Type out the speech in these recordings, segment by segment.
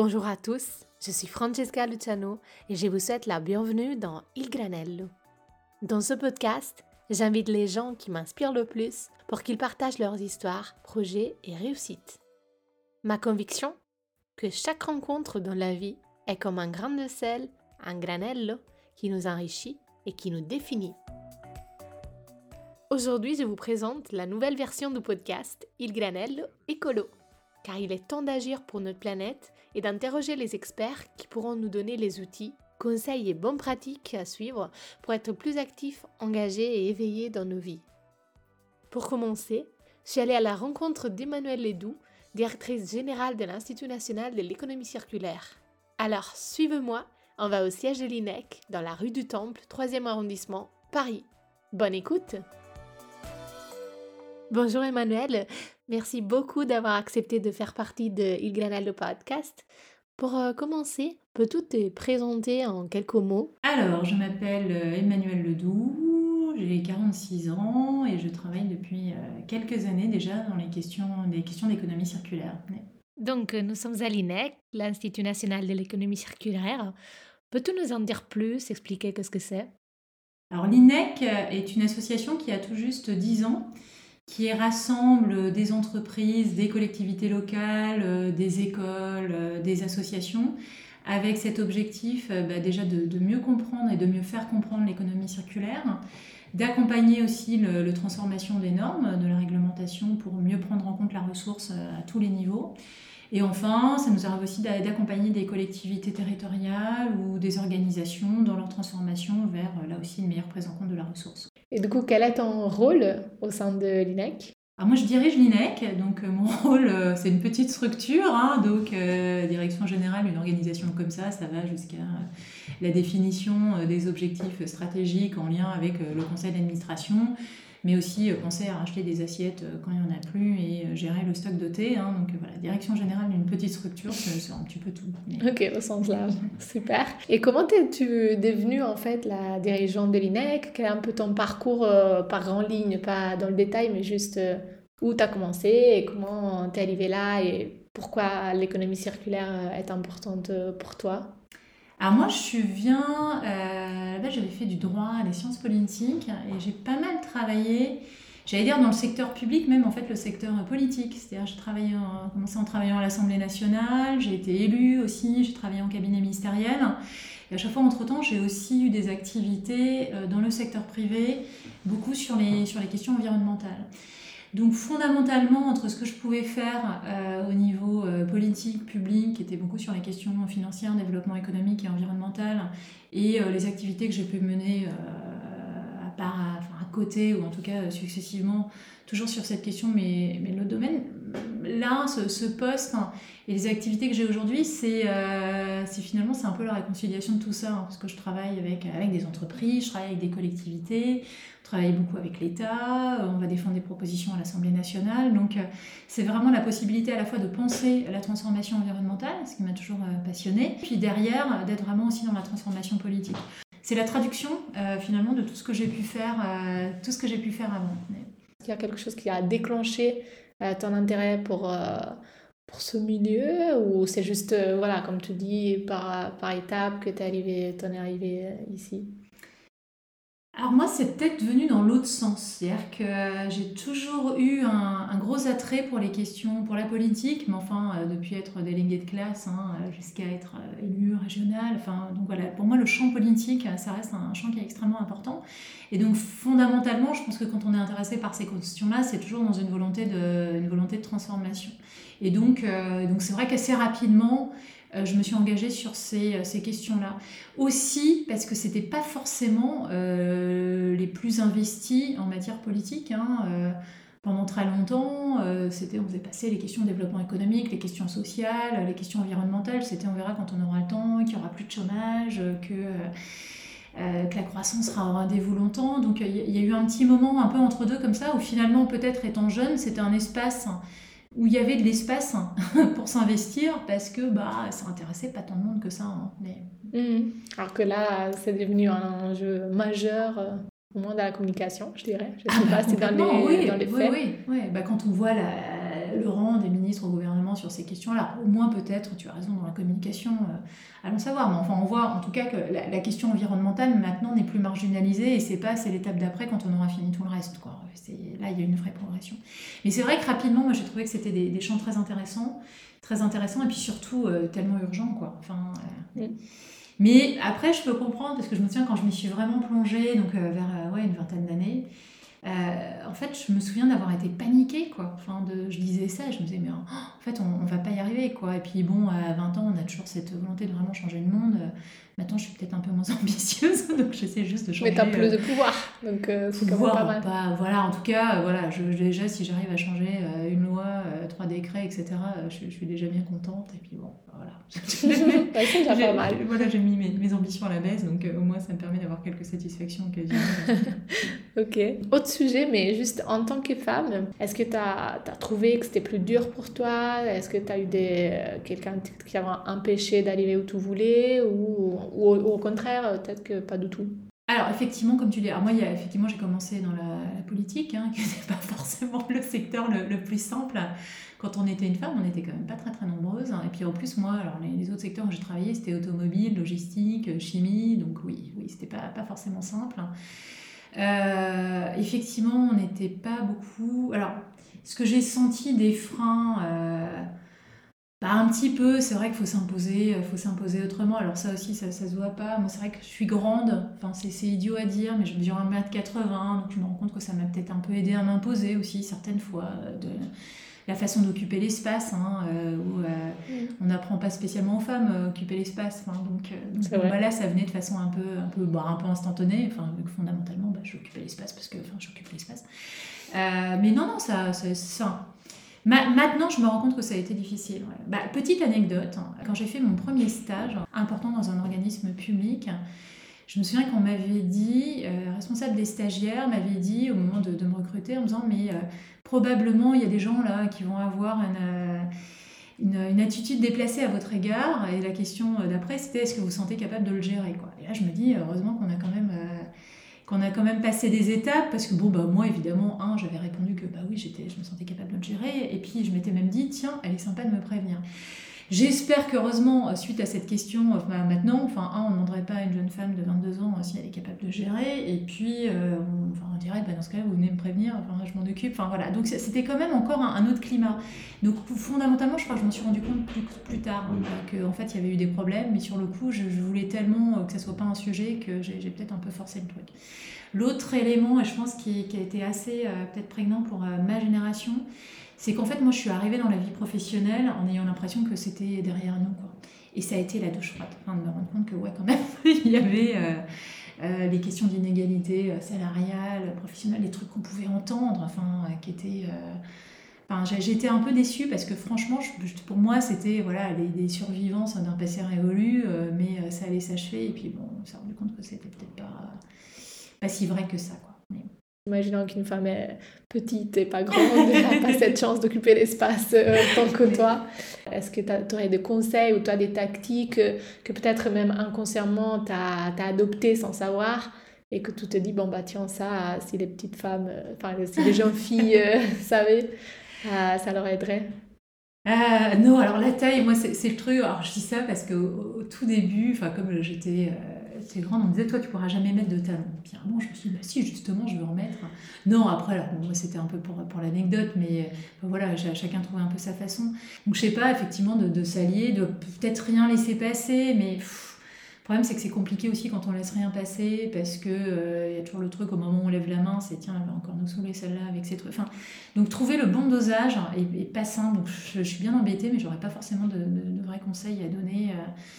Bonjour à tous, je suis Francesca Luciano et je vous souhaite la bienvenue dans Il Granello. Dans ce podcast, j'invite les gens qui m'inspirent le plus pour qu'ils partagent leurs histoires, projets et réussites. Ma conviction, que chaque rencontre dans la vie est comme un grain de sel, un granello, qui nous enrichit et qui nous définit. Aujourd'hui, je vous présente la nouvelle version du podcast Il Granello Écolo, car il est temps d'agir pour notre planète et d'interroger les experts qui pourront nous donner les outils, conseils et bonnes pratiques à suivre pour être plus actifs, engagés et éveillés dans nos vies. Pour commencer, je suis allée à la rencontre d'Emmanuelle Ledoux, directrice générale de l'Institut national de l'économie circulaire. Alors, suivez-moi, on va au siège de l'INEC, dans la rue du Temple, 3e arrondissement, Paris. Bonne écoute! Bonjour Emmanuelle, merci beaucoup d'avoir accepté de faire partie de Il Granello Podcast. Pour commencer, peux-tu te présenter en quelques mots? Alors, je m'appelle Emmanuelle Ledoux, j'ai 46 ans et je travaille depuis quelques années déjà dans les questions d'économie circulaire. Donc, nous sommes à l'INEC, l'Institut national de l'économie circulaire. Peux-tu nous en dire plus, expliquer qu'est-ce que c'est? Alors, l'INEC est une association qui a tout juste 10 ans, qui rassemble des entreprises, des collectivités locales, des écoles, des associations, avec cet objectif déjà de mieux comprendre et de mieux faire comprendre l'économie circulaire, d'accompagner aussi la transformation des normes, de la réglementation pour mieux prendre en compte la ressource à tous les niveaux. Et enfin, ça nous arrive aussi d'accompagner des collectivités territoriales ou des organisations dans leur transformation vers, là aussi, une meilleure prise en compte de la ressource. Et du coup, quel est ton rôle au sein de l'INEC? Alors moi, je dirige l'INEC, donc mon rôle, c'est une petite structure, donc direction générale, une organisation comme ça va jusqu'à la définition des objectifs stratégiques en lien avec le conseil d'administration, mais aussi penser à racheter des assiettes quand il n'y en a plus et gérer le stock de thé. Donc voilà, direction générale d'une petite structure, c'est un petit peu tout. Ok, au sens large, super. Et comment es-tu devenue en fait la dirigeante de l'INEC? Quel est un peu ton parcours par grande ligne, pas dans le détail, mais juste où tu as commencé et comment tu es arrivée là et pourquoi l'économie circulaire est importante pour toi? Alors moi, là-bas j'avais fait du droit, des sciences politiques, et j'ai pas mal travaillé, j'allais dire dans le secteur public, même en fait le secteur politique. C'est-à-dire j'ai commencé en travaillant à l'Assemblée nationale, j'ai été élue aussi, j'ai travaillé en cabinet ministériel. Et à chaque fois, entre-temps, j'ai aussi eu des activités dans le secteur privé, beaucoup sur les questions environnementales. Donc fondamentalement, entre ce que je pouvais faire au niveau politique, public, qui était beaucoup sur les questions financières, développement économique et environnemental, et les activités que j'ai pu mener à côté, ou en tout cas successivement, toujours sur cette question, mais l'autre domaine, là, ce poste et les activités que j'ai aujourd'hui, c'est finalement c'est un peu la réconciliation de tout ça, parce que je travaille avec des entreprises, je travaille avec des collectivités, on travaille beaucoup avec l'État, on va défendre des propositions à l'Assemblée nationale, donc c'est vraiment la possibilité à la fois de penser la transformation environnementale, ce qui m'a toujours passionnée, puis derrière d'être vraiment aussi dans la transformation politique. C'est la traduction finalement de tout ce que j'ai pu faire avant. Est-ce qu'il y a quelque chose qui a déclenché ton intérêt pour ce milieu ou c'est juste, voilà, comme tu dis, par étapes que t'en es arrivé ici? Alors moi, c'est peut-être venu dans l'autre sens. C'est-à-dire que j'ai toujours eu un gros attrait pour les questions, pour la politique, mais enfin, depuis être déléguée de classe jusqu'à être élue régionale. Donc voilà, pour moi, le champ politique, ça reste un champ qui est extrêmement important. Et donc fondamentalement, je pense que quand on est intéressé par ces questions-là, c'est toujours dans une volonté de transformation. Et donc c'est vrai qu'assez rapidement, je me suis engagée sur ces questions-là. Aussi parce que c'était pas forcément les plus investis en matière politique. Pendant très longtemps, on faisait passer les questions de développement économique, les questions sociales, les questions environnementales. C'était on verra quand on aura le temps, qu'il n'y aura plus de chômage, que la croissance sera au rendez-vous longtemps. Donc il y a eu un petit moment un peu entre deux comme ça, où finalement peut-être étant jeune, c'était un espace où il y avait de l'espace pour s'investir parce que ça intéressait pas tant de monde que ça. Alors que là, c'est devenu un enjeu majeur, au moins dans la communication, je dirais. Je sais pas si dans les faits. Oui. Quand on voit le rang des ministres au gouvernement vraiment sur ces questions-là. Au moins peut-être, tu as raison, dans la communication, allons savoir. Mais enfin, on voit en tout cas que la question environnementale maintenant n'est plus marginalisée et c'est l'étape d'après quand on aura fini tout le reste, quoi. Là, il y a une vraie progression. Mais c'est vrai que rapidement, moi j'ai trouvé que c'était des champs très intéressants et puis surtout tellement urgents, quoi. Enfin, Mais après, je peux comprendre, parce que je me souviens quand je m'y suis vraiment plongée, donc vers une vingtaine d'années, en fait, je me souviens d'avoir été paniquée, quoi. Enfin, je disais ça et je me disais, mais en fait, on va pas y arriver, quoi. Et puis bon, à 20 ans, on a toujours cette volonté de vraiment changer le monde. Maintenant, je suis peut-être un peu moins ambitieuse, donc j'essaie juste de changer. Mais t'as plus de pouvoir, donc c'est quand même pas mal. Voilà, en tout cas, déjà, si j'arrive à changer une loi, 3 décrets, etc., je suis déjà bien contente. Et puis bon, voilà. C'est déjà pas mal. Voilà, j'ai mis mes ambitions à la baisse, donc au moins, ça me permet d'avoir quelques satisfactions occasionnelles. Ok. Autre sujet, mais juste en tant que femme, est-ce que tu as trouvé que c'était plus dur pour toi? Est-ce que tu as eu quelqu'un qui t'a empêché d'arriver où tu voulais ou au contraire, peut-être que pas du tout? Alors effectivement, comme tu dis, moi effectivement j'ai commencé dans la politique, qui n'est pas forcément le secteur le plus simple. Quand on était une femme, on n'était quand même pas très très nombreuses. Et puis en plus moi, alors les autres secteurs où j'ai travaillé, c'était automobile, logistique, chimie, donc oui, c'était pas forcément simple. Effectivement, on n'était pas beaucoup. Alors, ce que j'ai senti des freins, un petit peu, c'est vrai qu'il faut s'imposer autrement. Alors ça aussi, ça se voit pas. Moi, c'est vrai que je suis grande. Enfin, c'est idiot à dire, mais je mesure 1,80 m, donc je me rends compte que ça m'a peut-être un peu aidé à m'imposer aussi certaines fois de la façon d'occuper l'espace, où on n'apprend pas spécialement aux femmes à occuper l'espace. Donc là, ça venait de façon un peu instantanée. Enfin, vu que fondamentalement, j'occupais l'espace parce que j'occupe l'espace. Mais non, ça. Maintenant, je me rends compte que ça a été difficile. Ouais. Petite anecdote, quand j'ai fait mon premier stage important dans un organisme public, je me souviens qu'on m'avait dit, responsable des stagiaires m'avait dit au moment de me recruter en me disant mais probablement il y a des gens là qui vont avoir une attitude déplacée à votre égard, et la question d'après c'était est-ce que vous vous sentez capable de le gérer, quoi. Et là je me dis heureusement qu'on a quand même passé des étapes, parce que moi évidemment j'avais répondu que oui je me sentais capable de le gérer, et puis je m'étais même dit tiens elle est sympa de me prévenir. J'espère qu'heureusement, suite à cette question, maintenant, on ne demanderait pas à une jeune femme de 22 ans si elle est capable de gérer, et puis on dirait, dans ce cas-là, vous venez me prévenir, je m'en occupe, voilà. Donc c'était quand même encore un autre climat. Donc fondamentalement, je crois que je m'en suis rendu compte plus tard, qu'en fait, il y avait eu des problèmes, mais sur le coup, je voulais tellement que ça ne soit pas un sujet que j'ai peut-être un peu forcé le truc. L'autre élément, et je pense qui a été assez peut-être prégnant pour ma génération, c'est qu'en fait, moi, je suis arrivée dans la vie professionnelle en ayant l'impression que c'était derrière nous, quoi. Et ça a été la douche froide, de me rendre compte que, quand même, il y avait les questions d'inégalité salariale, professionnelle, les trucs qu'on pouvait entendre, qui étaient... j'étais un peu déçue parce que, franchement, pour moi, c'était des survivances d'un passé révolu, mais ça allait s'achever. Et puis, on s'est rendu compte que c'était peut-être pas si vrai que ça, quoi. Imaginons qu'une femme est petite et pas grande, n'a pas cette chance d'occuper l'espace tant que toi. Est-ce que tu aurais des conseils ou toi des tactiques que peut-être même inconsciemment tu as adoptées sans savoir, et que tu te dis, tiens, ça, si les petites femmes, si les jeunes filles savaient, ça leur aiderait? Non, alors la taille, moi c'est le truc. Alors je dis ça parce qu'au tout début, comme j'étais grande, on me disait toi tu pourras jamais mettre de talons. Puis à un moment je me suis dit si, justement je veux en mettre. Non, après là, moi c'était un peu pour l'anecdote, mais chacun trouvait un peu sa façon. Donc je sais pas, effectivement de s'allier, de peut-être rien laisser passer, mais le problème c'est que c'est compliqué aussi quand on laisse rien passer, parce que y a toujours le truc au moment où on lève la main, c'est tiens elle va encore nous saouler celle-là avec ses trucs. Donc trouver le bon dosage est pas simple. Donc je suis bien embêtée, mais j'aurais pas forcément de vrais conseils à donner.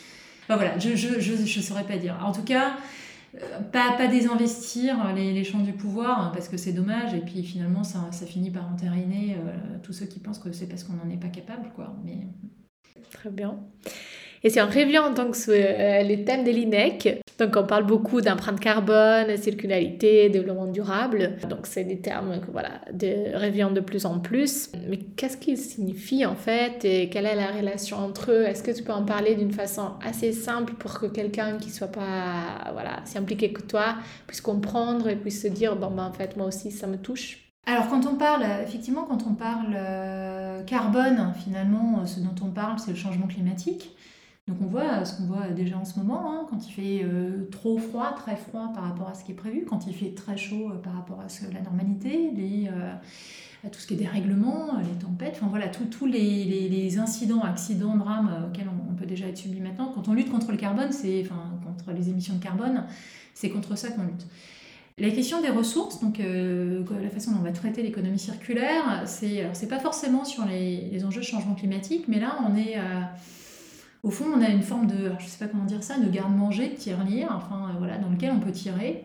Je saurais pas dire. En tout cas, pas désinvestir les champs du pouvoir, parce que c'est dommage, et puis finalement ça finit par entériner tous ceux qui pensent que c'est parce qu'on n'en est pas capable, quoi. Mais... Très bien. Et si on revient en tant que sur les thèmes de l'INEC, donc on parle beaucoup d'empreinte carbone, circularité, développement durable. Donc c'est des termes que reviennent de plus en plus. Mais qu'est-ce qu'ils signifient en fait, et quelle est la relation entre eux? Est-ce que tu peux en parler d'une façon assez simple pour que quelqu'un qui soit pas si impliqué que toi puisse comprendre et puisse se dire en fait moi aussi ça me touche? Alors effectivement, quand on parle carbone, finalement, ce dont on parle, c'est le changement climatique. Donc on voit ce qu'on voit déjà en ce moment, hein, quand il fait trop froid, très froid par rapport à ce qui est prévu, quand il fait très chaud par rapport à la normalité, à tout ce qui est dérèglement, les tempêtes, enfin voilà, tous les incidents, accidents, drames auxquels on peut déjà être subi maintenant. Quand on lutte contre le carbone, contre les émissions de carbone, c'est contre ça qu'on lutte. La question des ressources, donc la façon dont on va traiter l'économie circulaire, c'est pas forcément sur les enjeux de changement climatique, mais là au fond, on a une forme de, je sais pas comment dire ça, de garde-manger, de tirelire, voilà, dans lequel on peut tirer.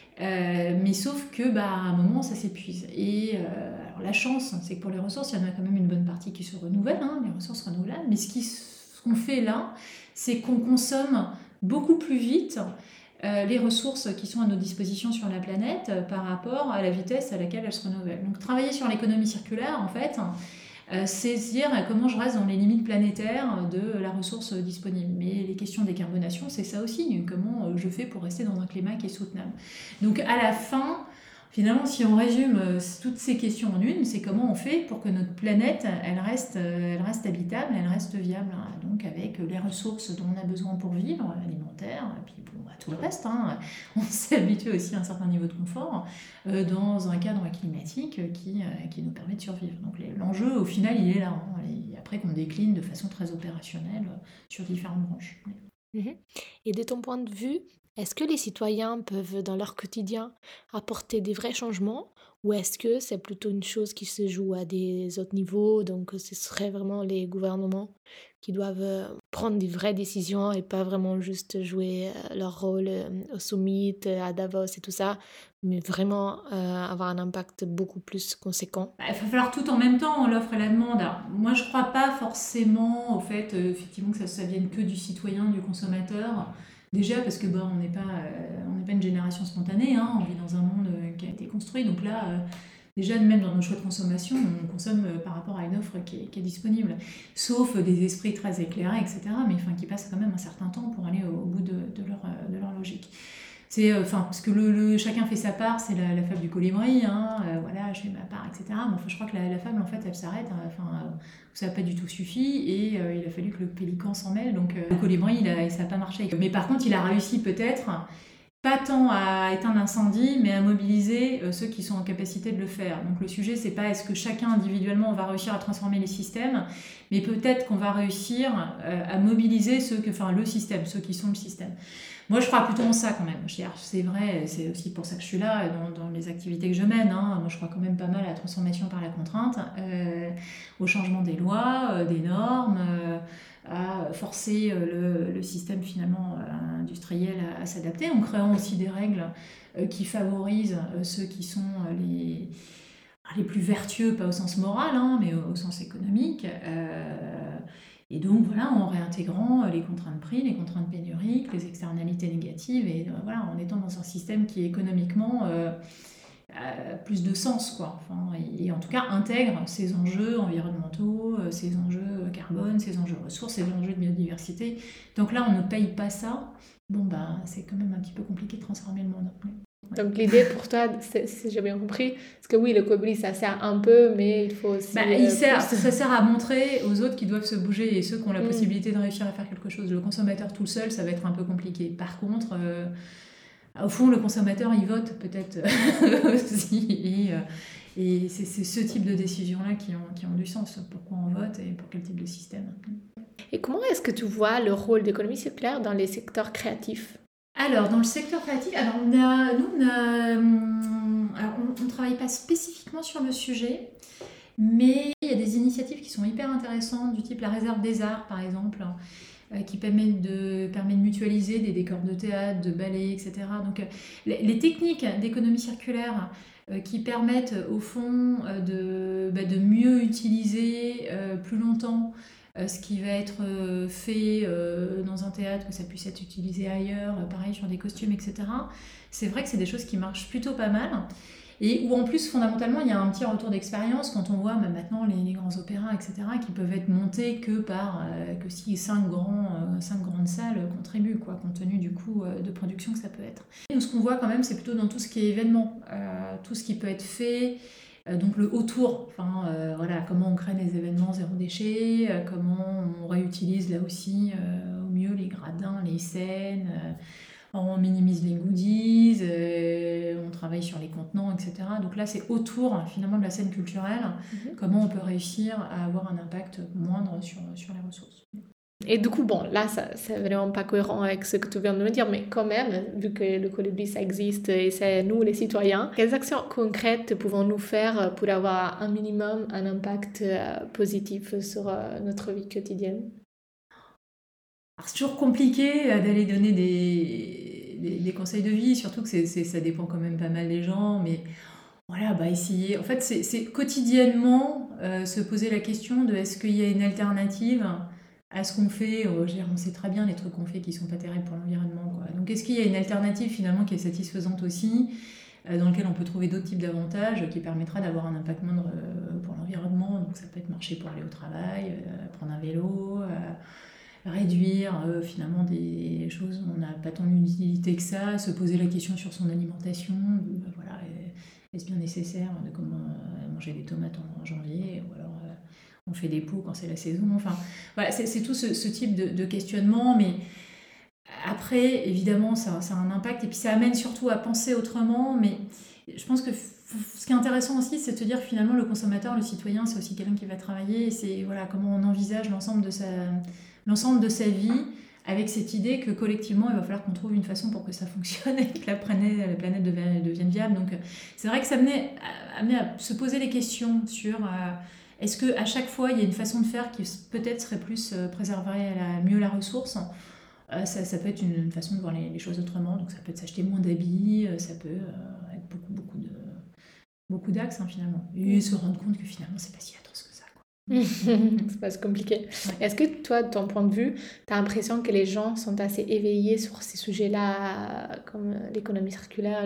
Mais sauf que, à un moment, ça s'épuise. Et alors, la chance, c'est que pour les ressources, il y en a quand même une bonne partie qui se renouvellent, hein, les ressources renouvelables. Mais ce qu'on fait là, c'est qu'on consomme beaucoup plus vite les ressources qui sont à nos dispositions sur la planète par rapport à la vitesse à laquelle elles se renouvellent. Donc travailler sur l'économie circulaire, en fait, c'est se dire comment je reste dans les limites planétaires de la ressource disponible. Mais les questions de décarbonation, c'est ça aussi, comment je fais pour rester dans un climat qui est soutenable. Donc à la fin, finalement, si on résume toutes ces questions en une, c'est comment on fait pour que notre planète, elle reste habitable, elle reste viable, hein, donc avec les ressources dont on a besoin pour vivre, alimentaire, et puis tout le reste, hein. On s'est habitué aussi à un certain niveau de confort dans un cadre climatique qui nous permet de survivre. Donc l'enjeu, au final, il est là, hein, et après qu'on décline de façon très opérationnelle sur différentes branches. Mhm. Et de ton point de vue, est-ce que les citoyens peuvent, dans leur quotidien, apporter des vrais changements ou est-ce que c'est plutôt une chose qui se joue à des autres niveaux, donc ce serait vraiment les gouvernements qui doivent prendre des vraies décisions et pas vraiment juste jouer leur rôle au summit, à Davos et tout ça, mais vraiment avoir un impact beaucoup plus conséquent? Il va falloir tout en même temps, l'offre et la demande. Alors, moi, je ne crois pas forcément au fait, effectivement, que ça vienne que du citoyen, du consommateur. Déjà parce que on n'est pas une génération spontanée, hein, on vit dans un monde qui a été construit. Donc là, déjà, même dans nos choix de consommation, on consomme par rapport à une offre qui est disponible. Sauf des esprits très éclairés, etc., mais qui passent quand même un certain temps pour aller au bout de leur logique. Parce que chacun fait sa part, c'est la fable du colibri, hein, voilà, je fais ma part, etc. Mais je crois que la fable, en fait, elle s'arrête, ça n'a pas du tout suffi, et il a fallu que le pélican s'en mêle, donc le colibri, ça n'a pas marché. Mais par contre, il a réussi peut-être, pas tant à éteindre l'incendie, mais à mobiliser ceux qui sont en capacité de le faire. Donc le sujet, c'est pas est-ce que chacun individuellement va réussir à transformer les systèmes, mais peut-être qu'on va réussir à mobiliser le système, ceux qui sont le système. Moi, je crois plutôt en ça quand même. C'est vrai, c'est aussi pour ça que je suis là, dans les activités que je mène, hein. Moi, je crois quand même pas mal à la transformation par la contrainte, au changement des lois, des normes, à forcer le système finalement industriel à s'adapter, en créant aussi des règles qui favorisent ceux qui sont les plus vertueux, pas au sens moral, hein, mais au sens économique. Et donc voilà, en réintégrant les contraintes prix, les contraintes pénuriques, les externalités négatives, et voilà, en étant dans un système qui économiquement a plus de sens, quoi. Et en tout cas intègre ces enjeux environnementaux, ces enjeux carbone, ces enjeux ressources, ces enjeux de biodiversité. Donc là, on ne paye pas ça. C'est quand même un petit peu compliqué de transformer le monde. Donc l'idée pour toi, si j'ai bien compris, parce que oui, le colibri, ça sert un peu, mais il faut aussi... ça sert à montrer aux autres qui doivent se bouger et ceux qui ont la possibilité de réussir à faire quelque chose. Le consommateur tout seul, ça va être un peu compliqué. Par contre, au fond, le consommateur, il vote peut-être aussi. Et c'est ce type de décisions-là qui ont du sens. Pourquoi on vote et pour quel type de système. Et comment est-ce que tu vois le rôle d'économie circulaire dans les secteurs créatifs ? Alors, dans le secteur créatif, on ne travaille pas spécifiquement sur le sujet, mais il y a des initiatives qui sont hyper intéressantes, du type la réserve des arts, par exemple, qui permet de mutualiser des décors de théâtre, de ballet, etc. Donc, les techniques d'économie circulaire qui permettent, au fond, de mieux utiliser plus longtemps ce qui va être fait dans un théâtre, que ça puisse être utilisé ailleurs, pareil sur des costumes, etc. C'est vrai que c'est des choses qui marchent plutôt pas mal. Et où en plus, fondamentalement, il y a un petit retour d'expérience quand on voit maintenant les grands opéras, etc., qui peuvent être montés que si 5 grandes salles contribuent, quoi, compte tenu du coût de production que ça peut être. Et nous, ce qu'on voit quand même, c'est plutôt dans tout ce qui est événement, tout ce qui peut être fait Donc le autour, voilà, comment on crée des événements zéro déchet, comment on réutilise là aussi au mieux les gradins, les scènes, on minimise les goodies, on travaille sur les contenants, etc. Donc là, c'est autour finalement de la scène culturelle, comment on peut réussir à avoir un impact moindre sur les ressources. Et du coup, bon, là, ça, c'est vraiment pas cohérent avec ce que tu viens de me dire, mais quand même, vu que le colibri, ça existe et c'est nous, les citoyens, quelles actions concrètes pouvons-nous faire pour avoir un minimum un impact positif sur notre vie quotidienne? Alors, c'est toujours compliqué d'aller donner des conseils de vie, surtout que ça dépend quand même pas mal des gens, mais voilà, essayer. En fait, c'est quotidiennement se poser la question de est-ce qu'il y a une alternative à ce qu'on fait. Je veux dire, on sait très bien les trucs qu'on fait qui sont pas terribles pour l'environnement, quoi. Donc, est-ce qu'il y a une alternative finalement qui est satisfaisante aussi, dans lequel on peut trouver d'autres types d'avantages qui permettra d'avoir un impact moindre pour l'environnement. Donc, ça peut être marcher pour aller au travail, prendre un vélo, réduire finalement des choses où on n'a pas tant d'utilité que ça, se poser la question sur son alimentation, voilà, est-ce bien nécessaire de manger des tomates en janvier, ou alors on fait des pots quand c'est la saison, enfin voilà, c'est tout ce type de questionnement, mais après évidemment ça a un impact, et puis ça amène surtout à penser autrement, mais je pense que ce qui est intéressant aussi, c'est de se dire que finalement le consommateur, le citoyen, c'est aussi quelqu'un qui va travailler, et c'est voilà, comment on envisage l'ensemble de sa vie, avec cette idée que collectivement, il va falloir qu'on trouve une façon pour que ça fonctionne et que la planète devienne viable. Donc c'est vrai que ça amenait à se poser les questions sur est-ce qu'à chaque fois, il y a une façon de faire qui peut-être serait plus préserverait mieux la ressource. Ça peut être une façon de voir les choses autrement. Donc ça peut être s'acheter moins d'habits, ça peut être beaucoup d'axes finalement. Et se rendre compte que finalement, c'est pas si atroce que ça, quoi. C'est pas si compliqué. Ouais. Est-ce que toi, de ton point de vue, tu as l'impression que les gens sont assez éveillés sur ces sujets-là, comme l'économie circulaire,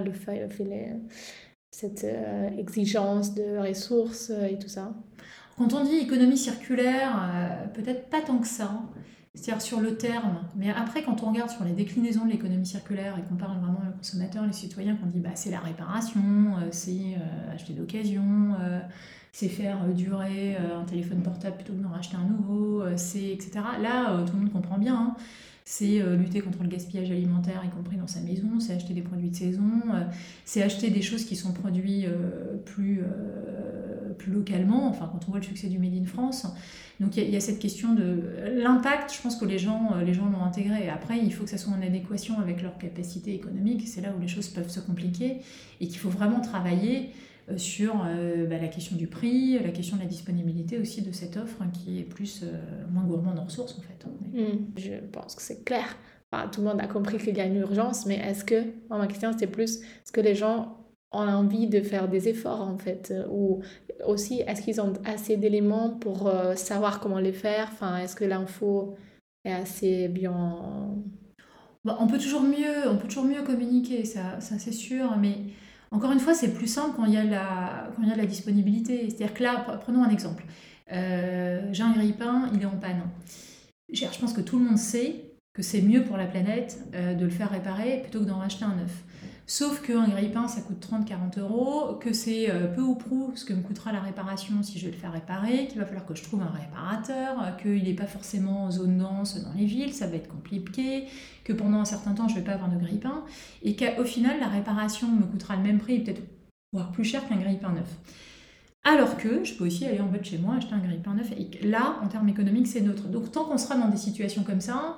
cette exigence de ressources et tout ça? Quand on dit économie circulaire, peut-être pas tant que ça, c'est-à-dire sur le terme, mais après quand on regarde sur les déclinaisons de l'économie circulaire et qu'on parle vraiment le consommateur, les citoyens, qu'on dit c'est la réparation, c'est acheter d'occasion, c'est faire durer un téléphone portable plutôt que d'en racheter un nouveau, c'est etc. Là, tout le monde comprend bien, hein. C'est lutter contre le gaspillage alimentaire, y compris dans sa maison, c'est acheter des produits de saison, c'est acheter des choses qui sont produites plus localement, enfin quand on voit le succès du Made in France. Donc il y a cette question de l'impact, je pense que les gens l'ont intégré. Après, il faut que ça soit en adéquation avec leur capacité économique, c'est là où les choses peuvent se compliquer, et qu'il faut vraiment travailler sur la question du prix, la question de la disponibilité aussi de cette offre qui est moins gourmande en ressources en fait. Je pense que c'est clair. Enfin, tout le monde a compris qu'il y a une urgence, mais ma question c'était plus, est-ce que les gens ont envie de faire des efforts en fait, ou aussi est-ce qu'ils ont assez d'éléments pour savoir comment les faire, enfin, est-ce que l'info est assez bien... On peut toujours mieux communiquer, ça c'est sûr, mais encore une fois, c'est plus simple quand il y a de la disponibilité. C'est-à-dire que là, prenons un exemple. J'ai un grille-pain, il est en panne. Je pense que tout le monde sait que c'est mieux pour la planète de le faire réparer plutôt que d'en racheter un neuf. Sauf qu'un grille-pain, ça coûte 30-40 €, que c'est peu ou prou ce que me coûtera la réparation si je vais le faire réparer, qu'il va falloir que je trouve un réparateur, qu'il n'est pas forcément en zone dense dans les villes, ça va être compliqué, que pendant un certain temps, je ne vais pas avoir de grille-pain, et qu'au final, la réparation me coûtera le même prix, peut-être voire plus cher qu'un grille-pain neuf. Alors que je peux aussi aller en bas de chez moi, acheter un grille-pain neuf, et là, en termes économiques, c'est neutre. Donc tant qu'on sera dans des situations comme ça,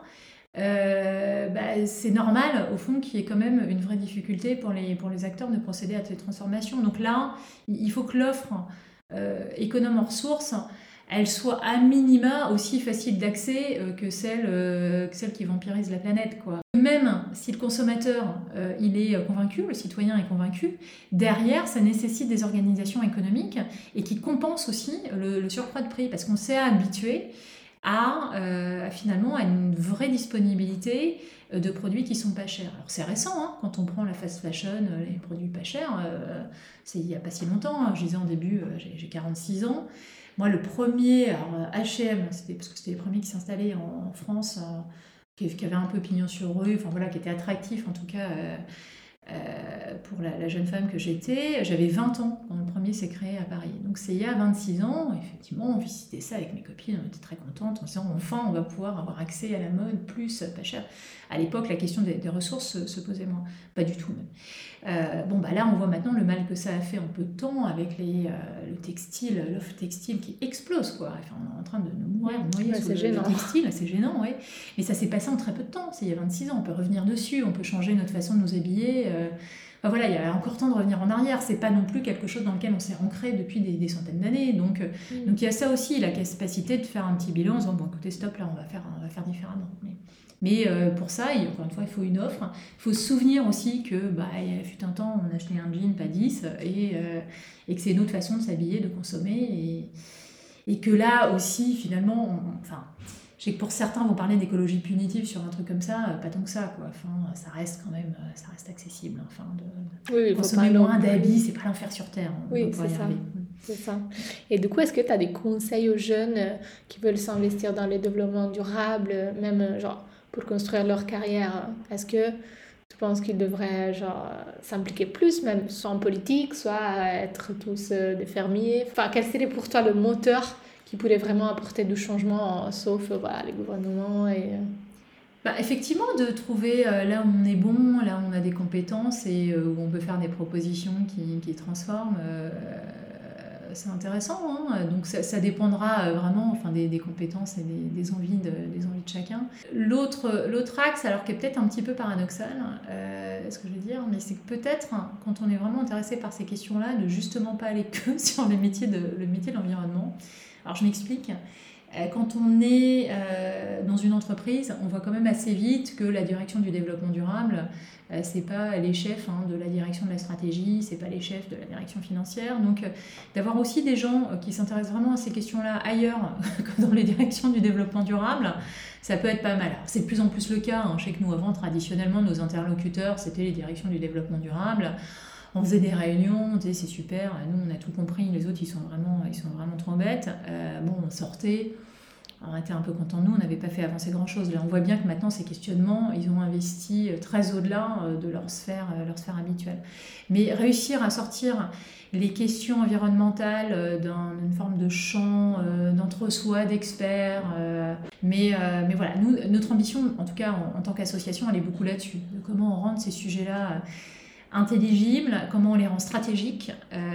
c'est normal, au fond, qu'il y ait quand même une vraie difficulté pour les acteurs de procéder à ces transformations. Donc là, il faut que l'offre économe en ressources, elle soit à minima aussi facile d'accès que celle qui vampirise la planète, quoi. Même si le consommateur il est convaincu, le citoyen est convaincu, derrière ça nécessite des organisations économiques et qui compensent aussi le surcroît de prix, parce qu'on s'est habitué finalement à une vraie disponibilité de produits qui sont pas chers. Alors c'est récent, hein, quand on prend la fast fashion, les produits pas chers, c'est il n'y a pas si longtemps, hein. Je disais en début, j'ai 46 ans. Moi, le premier, H&M, parce que c'était les premiers qui s'installaient en France, qui avaient un peu pignon sur rue, enfin voilà, qui étaient attractifs en tout cas. pour la jeune femme que j'étais. J'avais 20 ans quand le premier s'est créé à Paris. Donc c'est il y a 26 ans, effectivement, on visitait ça avec mes copines, on était très contentes, en se disant enfin on va pouvoir avoir accès à la mode, plus, pas cher. À l'époque, la question des ressources se posait moins, pas du tout même. Là on voit maintenant le mal que ça a fait en peu de temps avec le textile, l'offre textile qui explose quoi. Enfin, on est en train de nous noyer sous le textile, c'est gênant, ouais. Mais ça s'est passé en très peu de temps, c'est il y a 26 ans, on peut revenir dessus, on peut changer notre façon de nous habiller. Il y a encore temps de revenir en arrière, c'est pas non plus quelque chose dans lequel on s'est ancré depuis des centaines d'années. Donc il y a ça aussi, la capacité de faire un petit bilan en disant écoutez, stop, là on va faire différemment. Mais pour ça, encore une fois, il faut une offre. Il faut se souvenir aussi que il fut un temps, on achetait un jean, pas 10, et que c'est une autre façon de s'habiller, de consommer, et que là aussi, finalement, je sais que pour certains vont parler d'écologie punitive sur un truc comme ça, pas tant que ça, quoi. Enfin, ça reste quand même, ça reste accessible. De consommer moins d'habits, c'est pas l'enfer sur terre. Oui, c'est ça. Et du coup, est-ce que tu as des conseils aux jeunes qui veulent s'investir dans le développement durable, même genre pour construire leur carrière? Est-ce que tu penses qu'ils devraient s'impliquer plus, même soit en politique, soit être tous des fermiers? Enfin, quel serait pour toi le moteur qui pourrait vraiment apporter du changement, sauf les gouvernements Effectivement, de trouver là où on est bon, là où on a des compétences et où on peut faire des propositions qui transforment, c'est intéressant. Donc ça dépendra vraiment des compétences et des envies de chacun. L'autre axe, alors qui est peut-être un petit peu paradoxal, ce que je veux dire, mais c'est que peut-être quand on est vraiment intéressé par ces questions-là, de justement pas aller que sur le métier de l'environnement. Alors je m'explique. Quand on est dans une entreprise, on voit quand même assez vite que la direction du développement durable, c'est pas les chefs de la direction de la stratégie, c'est pas les chefs de la direction financière. Donc d'avoir aussi des gens qui s'intéressent vraiment à ces questions-là ailleurs que dans les directions du développement durable, ça peut être pas mal. Alors, c'est de plus en plus le cas. Je sais que nous, avant, traditionnellement, nos interlocuteurs, c'était les directions du développement durable. On faisait des réunions, c'est super, nous on a tout compris, les autres ils sont vraiment trop bêtes. On sortait, on était un peu contents de nous, on n'avait pas fait avancer grand chose. Là on voit bien que maintenant ces questionnements, ils ont investi très au-delà de leur sphère habituelle. Mais réussir à sortir les questions environnementales d'une forme de champ, d'entre-soi, d'experts. Mais voilà, nous, notre ambition, en tout cas en tant qu'association, elle est beaucoup là-dessus, de comment on rend ces sujets-là intelligibles, comment on les rend stratégiques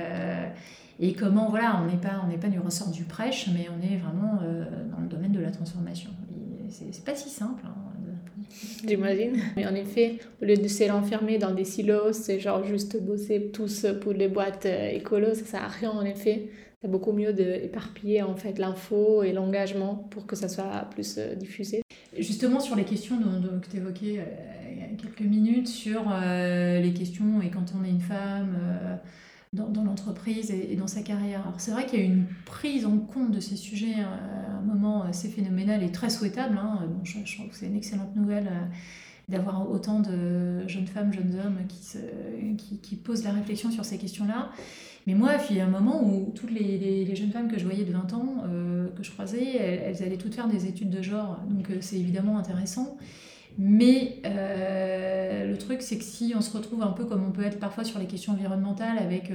et comment on n'est pas du ressort du prêche, mais on est vraiment dans le domaine de la transformation. C'est pas si simple. J'imagine. Mais en effet, au lieu de se renfermer dans des silos, c'est juste bosser tous pour les boîtes écolos, ça sert à rien en effet. C'est beaucoup mieux d'éparpiller en fait l'info et l'engagement pour que ça soit plus diffusé. Justement sur les questions que tu évoquais il y a quelques minutes, sur les questions et quand on est une femme dans l'entreprise et dans sa carrière. Alors c'est vrai qu'il y a une prise en compte de ces sujets à un moment assez phénoménal et très souhaitable. Je trouve que c'est une excellente nouvelle d'avoir autant de jeunes femmes, jeunes hommes qui posent la réflexion sur ces questions-là. Mais moi, il y a un moment où toutes les jeunes femmes que je voyais de 20 ans, que je croisais, elles allaient toutes faire des études de genre. Donc c'est évidemment intéressant. Mais le truc, c'est que si on se retrouve un peu comme on peut être parfois sur les questions environnementales, avec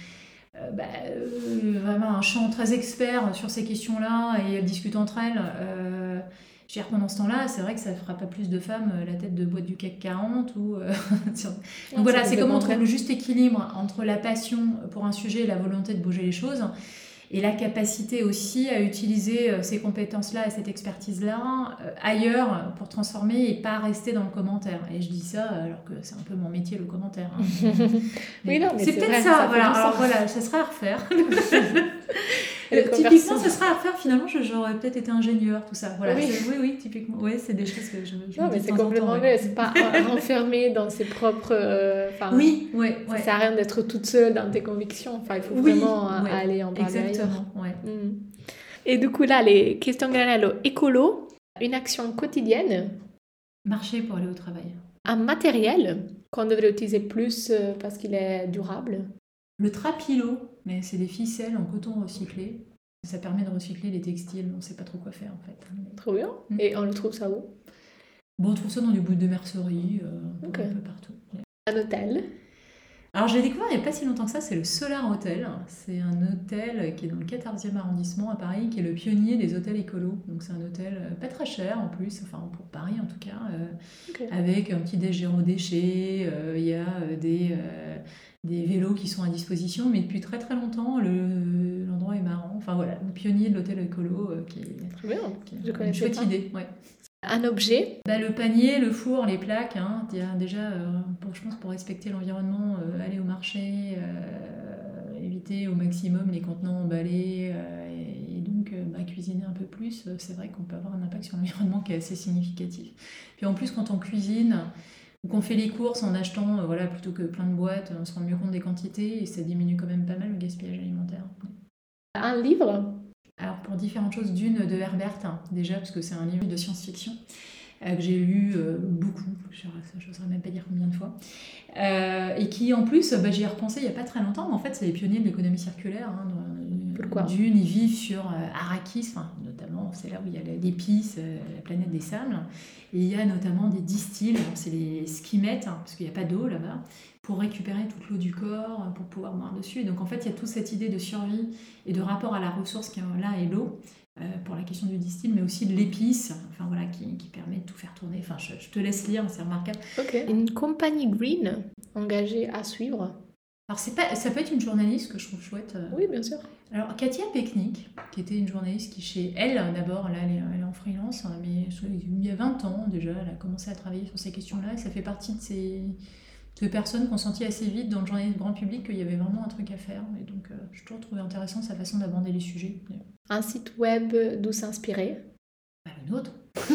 vraiment un champ très expert sur ces questions-là, et elles discutent entre elles, je veux dire, pendant ce temps-là, c'est vrai que ça ne fera pas plus de femmes la tête de boîte du CAC 40. Donc voilà, c'est comment on trouve le juste équilibre entre la passion pour un sujet et la volonté de bouger les choses. Et la capacité aussi à utiliser ces compétences-là et cette expertise-là ailleurs pour transformer et pas rester dans le commentaire. Et je dis ça alors que c'est un peu mon métier, le commentaire. Oui, non, mais c'est peut-être vrai, ça. Voilà. Alors voilà, ça serait à refaire. Typiquement, ça serait à refaire. Finalement, j'aurais peut-être été ingénieur, tout ça. Voilà. Oui, typiquement. Oui, c'est des choses que je non, mais c'est complètement vrai. C'est pas renfermé dans ses propres. Oui. Ça sert à rien d'être toute seule dans tes convictions. Il faut vraiment aller en parler. Exactement. Et du coup, là, les questions Granello écolo, une action quotidienne. Marcher pour aller au travail. Un matériel qu'on devrait utiliser plus parce qu'il est durable. Le trapilo, mais c'est des ficelles en coton recyclé. Ça permet de recycler les textiles, on ne sait pas trop quoi faire en fait. Trop bien. Et on le trouve ça où ? On trouve ça dans des bouts de mercerie, un peu partout. Un hôtel. Alors, je l'ai découvert il n'y a pas si longtemps que ça, c'est le Solar Hotel. C'est un hôtel qui est dans le 14e arrondissement à Paris, qui est le pionnier des hôtels écolos. Donc, c'est un hôtel pas très cher en plus, enfin pour Paris en tout cas, Ok. avec un petit déj zéro déchet. Il y a des vélos qui sont à disposition, mais depuis très très longtemps, l'endroit est marrant. Enfin voilà, le pionnier de l'hôtel écolo Très bien. qui Je est une connaissais chouette pas. idée. Ouais. Un objet. Le panier, le four, les plaques, hein, déjà, je pense pour respecter l'environnement, aller au marché, éviter au maximum les contenants emballés et donc cuisiner un peu plus, c'est vrai qu'on peut avoir un impact sur l'environnement qui est assez significatif. Puis en plus, quand on cuisine ou qu'on fait les courses en achetant plutôt que plein de boîtes, on se rend mieux compte des quantités et ça diminue quand même pas mal le gaspillage alimentaire. Un livre. Alors pour différentes choses, Dune de Herbert, hein, déjà parce que c'est un livre de science-fiction que j'ai lu beaucoup, je ne saurais même pas dire combien de fois, et qui en plus, j'y ai repensé il n'y a pas très longtemps, mais en fait c'est les pionniers de l'économie circulaire. Hein, Pourquoi ? Dune, ils vivent sur Arrakis, notamment c'est là où il y a l'épice, la planète des sables, et il y a notamment des distilles, c'est les skimettes, hein, parce qu'il n'y a pas d'eau là-bas, pour récupérer toute l'eau du corps, pour pouvoir boire dessus. Et donc en fait il y a toute cette idée de survie et de rapport à la ressource qui est là et l'eau, pour la question du distil, mais aussi de l'épice, qui permet de tout faire tourner. Enfin, je te laisse lire, c'est remarquable. Ok. Une compagnie green engagée à suivre. Alors, ça peut être une journaliste que je trouve chouette. Oui, bien sûr. Alors, Katia Peknik, qui était une journaliste qui, chez elle, d'abord, là, elle est en freelance, hein, mais il y a 20 ans déjà, elle a commencé à travailler sur ces questions-là, et ça fait partie de ces personnes qui ont senti assez vite dans le journalisme grand public qu'il y avait vraiment un truc à faire. Et donc, je toujours trouvé intéressant sa façon d'aborder les sujets. Un site web d'où s'inspirer. Le nôtre.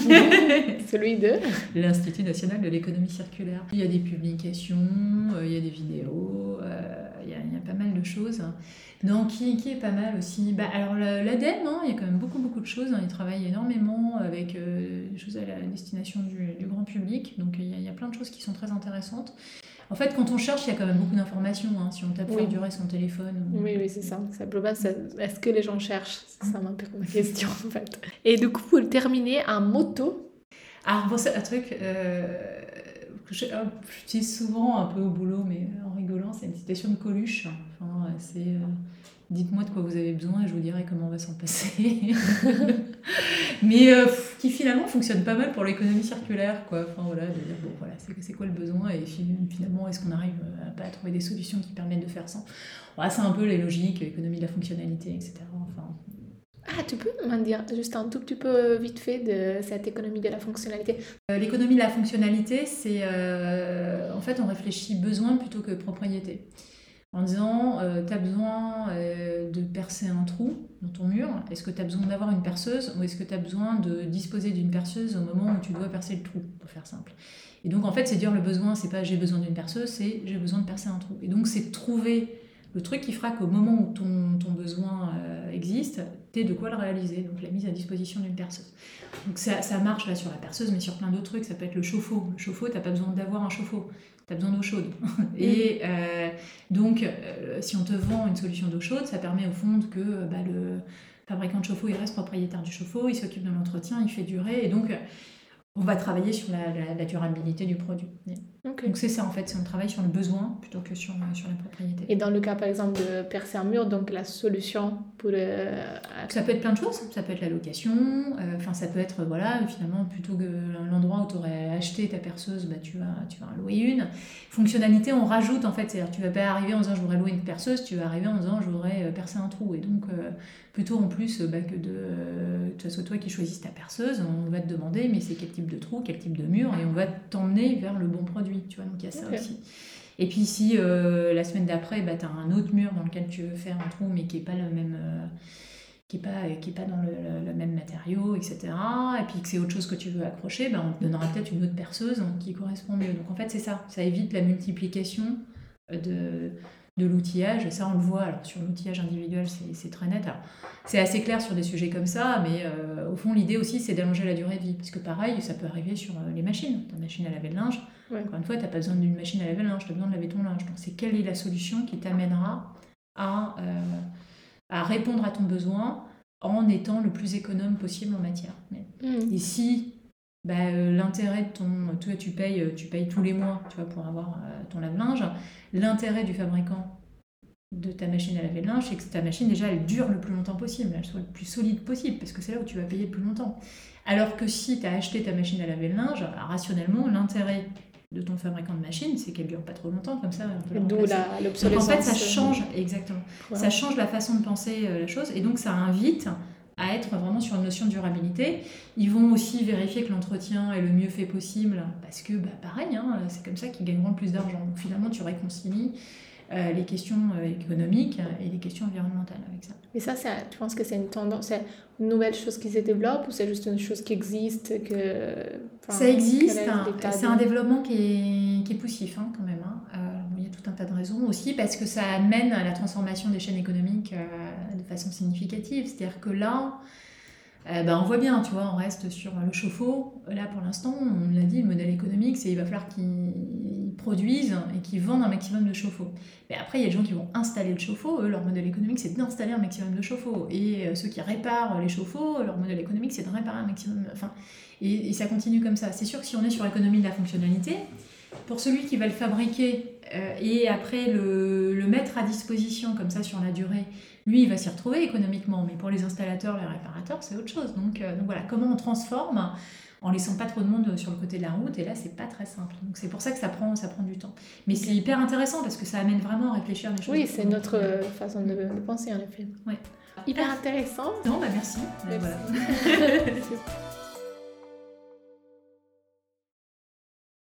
Celui de l'Institut national de l'économie circulaire. Il y a des publications, il y a des vidéos, il y a pas mal de choses. Donc, qui est pas mal aussi. Alors, l'ADEME, hein, il y a quand même beaucoup de choses. Hein. Ils travaillent énormément avec des choses à la destination du grand public. Donc, il y a plein de choses qui sont très intéressantes. En fait, quand on cherche, il y a quand même beaucoup d'informations. Hein, si on tape faire durer son téléphone. Oui, c'est ça. Simplement, est-ce que les gens cherchent ? C'est ça ma question, en fait. Et du coup, pour terminer, un motto. Alors, bon, c'est un truc que j'utilise souvent un peu au boulot, mais en rigolant, c'est une citation de Coluche. Enfin, c'est dites-moi de quoi vous avez besoin et je vous dirai comment on va s'en passer. Mais qui finalement fonctionne pas mal pour l'économie circulaire, quoi. Enfin voilà, de dire bon voilà, c'est quoi le besoin et finalement est-ce qu'on arrive à trouver des solutions qui permettent de faire ça. Voilà, c'est un peu les logiques, l'économie de la fonctionnalité, etc. Enfin. Ah, tu peux m'en dire juste un tout petit peu vite fait de cette économie de la fonctionnalité ? L'économie de la fonctionnalité, c'est en fait on réfléchit besoin plutôt que propriété. En disant, tu as besoin de percer un trou dans ton mur, est-ce que tu as besoin d'avoir une perceuse ou est-ce que tu as besoin de disposer d'une perceuse au moment où tu dois percer le trou, pour faire simple. Et donc en fait, c'est dire le besoin, c'est pas j'ai besoin d'une perceuse, c'est j'ai besoin de percer un trou. Et donc c'est trouver le truc qui fera qu'au moment où ton besoin existe, tu aies de quoi le réaliser, donc la mise à disposition d'une perceuse. Donc ça marche là sur la perceuse, mais sur plein d'autres trucs, ça peut être le chauffe-eau. Le chauffe-eau, tu n'as pas besoin d'avoir un chauffe-eau. Tu as besoin d'eau chaude. Et donc, si on te vend une solution d'eau chaude, ça permet au fond que le fabricant de chauffe-eau, il reste propriétaire du chauffe-eau, il s'occupe de l'entretien, il fait durer. Et donc, on va travailler sur la durabilité du produit. Okay. Donc, c'est ça, en fait. C'est on travaille sur le besoin plutôt que sur la propriété. Et dans le cas, par exemple, de percer un mur, donc la solution pour... Ça peut être plein de choses. Ça peut être la location. Ça peut être, finalement, plutôt que l'endroit où tu aurais acheté ta perceuse, tu vas en louer une. Fonctionnalité, on rajoute, en fait. C'est-à-dire, tu vas pas arriver en disant, je voudrais louer une perceuse. Tu vas arriver en disant, je voudrais percer un trou. Et donc, plutôt en plus que de soit toi qui choisisses ta perceuse, on va te demander, mais c'est quel type de trou, quel type de mur, et on va t'emmener vers le bon produit. Tu vois, donc il y a ça aussi. Et puis si la semaine d'après, tu as un autre mur dans lequel tu veux faire un trou, mais qui n'est pas le même, qui est pas dans le même matériau, etc. Et puis que c'est autre chose que tu veux accrocher, on te donnera peut-être une autre perceuse qui correspond mieux. Donc en fait c'est ça évite la multiplication de l'outillage. Ça on le voit, alors sur l'outillage individuel c'est très net. Alors, c'est assez clair sur des sujets comme ça, mais au fond l'idée aussi c'est d'allonger la durée de vie, parce que pareil ça peut arriver sur les machines. Ta machine à laver le linge, encore une fois tu n'as pas besoin d'une machine à laver le linge, tu as besoin de laver ton linge. Donc c'est quelle est la solution qui t'amènera à répondre à ton besoin en étant le plus économe possible en matière. Et si l'intérêt de toi, tu payes tous les mois, tu vois, pour avoir ton lave-linge. L'intérêt du fabricant de ta machine à laver le linge, c'est que ta machine, déjà, elle dure le plus longtemps possible, elle soit le plus solide possible, parce que c'est là où tu vas payer le plus longtemps. Alors que si tu as acheté ta machine à laver le linge, rationnellement, l'intérêt de ton fabricant de machine, c'est qu'elle dure pas trop longtemps, comme ça, on peut la D'où remplacer. l'obsolescence. Donc en fait, ça change, exactement. Ouais. Ça change la façon de penser la chose, et donc ça invite à être vraiment sur une notion de durabilité. Ils vont aussi vérifier que l'entretien est le mieux fait possible, parce que, pareil, c'est comme ça qu'ils gagneront le plus d'argent. Donc finalement, tu réconcilies les questions économiques et les questions environnementales avec ça. Mais ça, tu penses que c'est une tendance, c'est une nouvelle chose qui se développe ou c'est juste une chose qui existe Ça existe, c'est un développement qui est poussif quand même. Il y a tout un tas de raisons aussi parce que ça amène à la transformation des chaînes économiques de façon significative. C'est-à-dire que là, on voit bien, tu vois, on reste sur le chauffe-eau. Là, pour l'instant, on l'a dit, le modèle économique, c'est qu'il va falloir qu'ils produisent et qu'ils vendent un maximum de chauffe-eau. Mais après, il y a des gens qui vont installer le chauffe-eau. Eux, leur modèle économique, c'est d'installer un maximum de chauffe-eau. Et ceux qui réparent les chauffe-eau, leur modèle économique, c'est de réparer un maximum... Et ça continue comme ça. C'est sûr que si on est sur l'économie de la fonctionnalité, pour celui qui va le fabriquer et après le mettre à disposition comme ça sur la durée, lui, il va s'y retrouver économiquement, mais pour les installateurs, les réparateurs, c'est autre chose. Donc voilà, comment on transforme en laissant pas trop de monde sur le côté de la route, et là, c'est pas très simple. Donc c'est pour ça que ça prend du temps. Mais c'est hyper intéressant parce que ça amène vraiment à réfléchir des choses. Oui, c'est notre façon de penser, en effet. Ouais. Hyper intéressant. Non, merci. Merci.